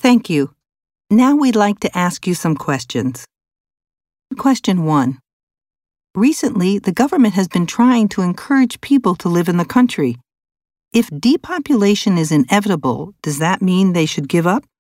Thank you. Now we'd like to ask you some questions. Question 1. Recently, the government has been trying to encourage people to live in the country. If depopulation is inevitable, does that mean they should give up?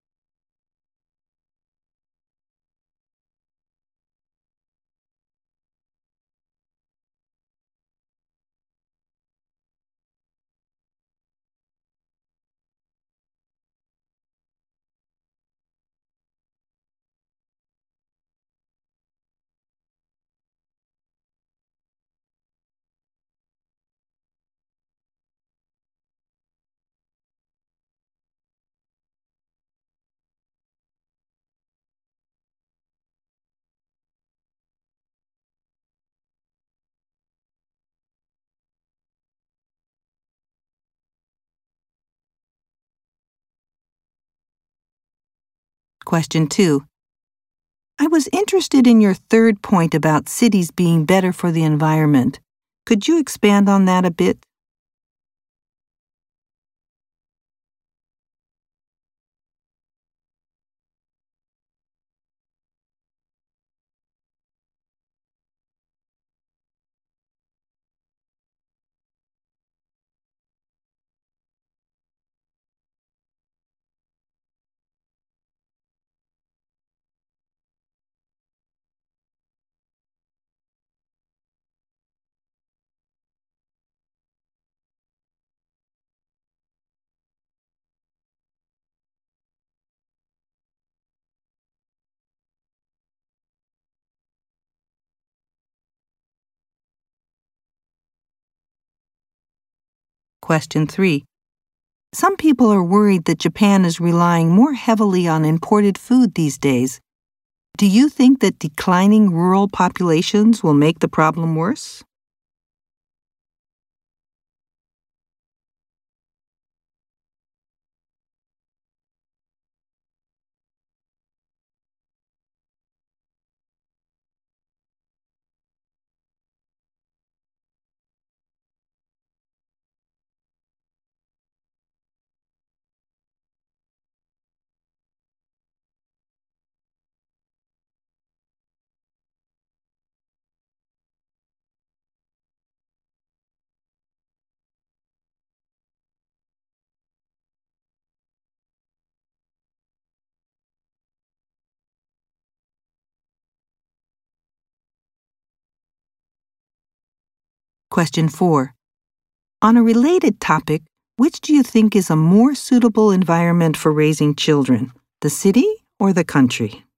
Question 2. I was interested in your third point about cities being better for the environment. Could you expand on that a bit? Question 3. Some people are worried that Japan is relying more heavily on imported food these days. Do you think that declining rural populations will make the problem worse? Question 4. On a related topic, which do you think is a more suitable environment for raising children, the city or the country?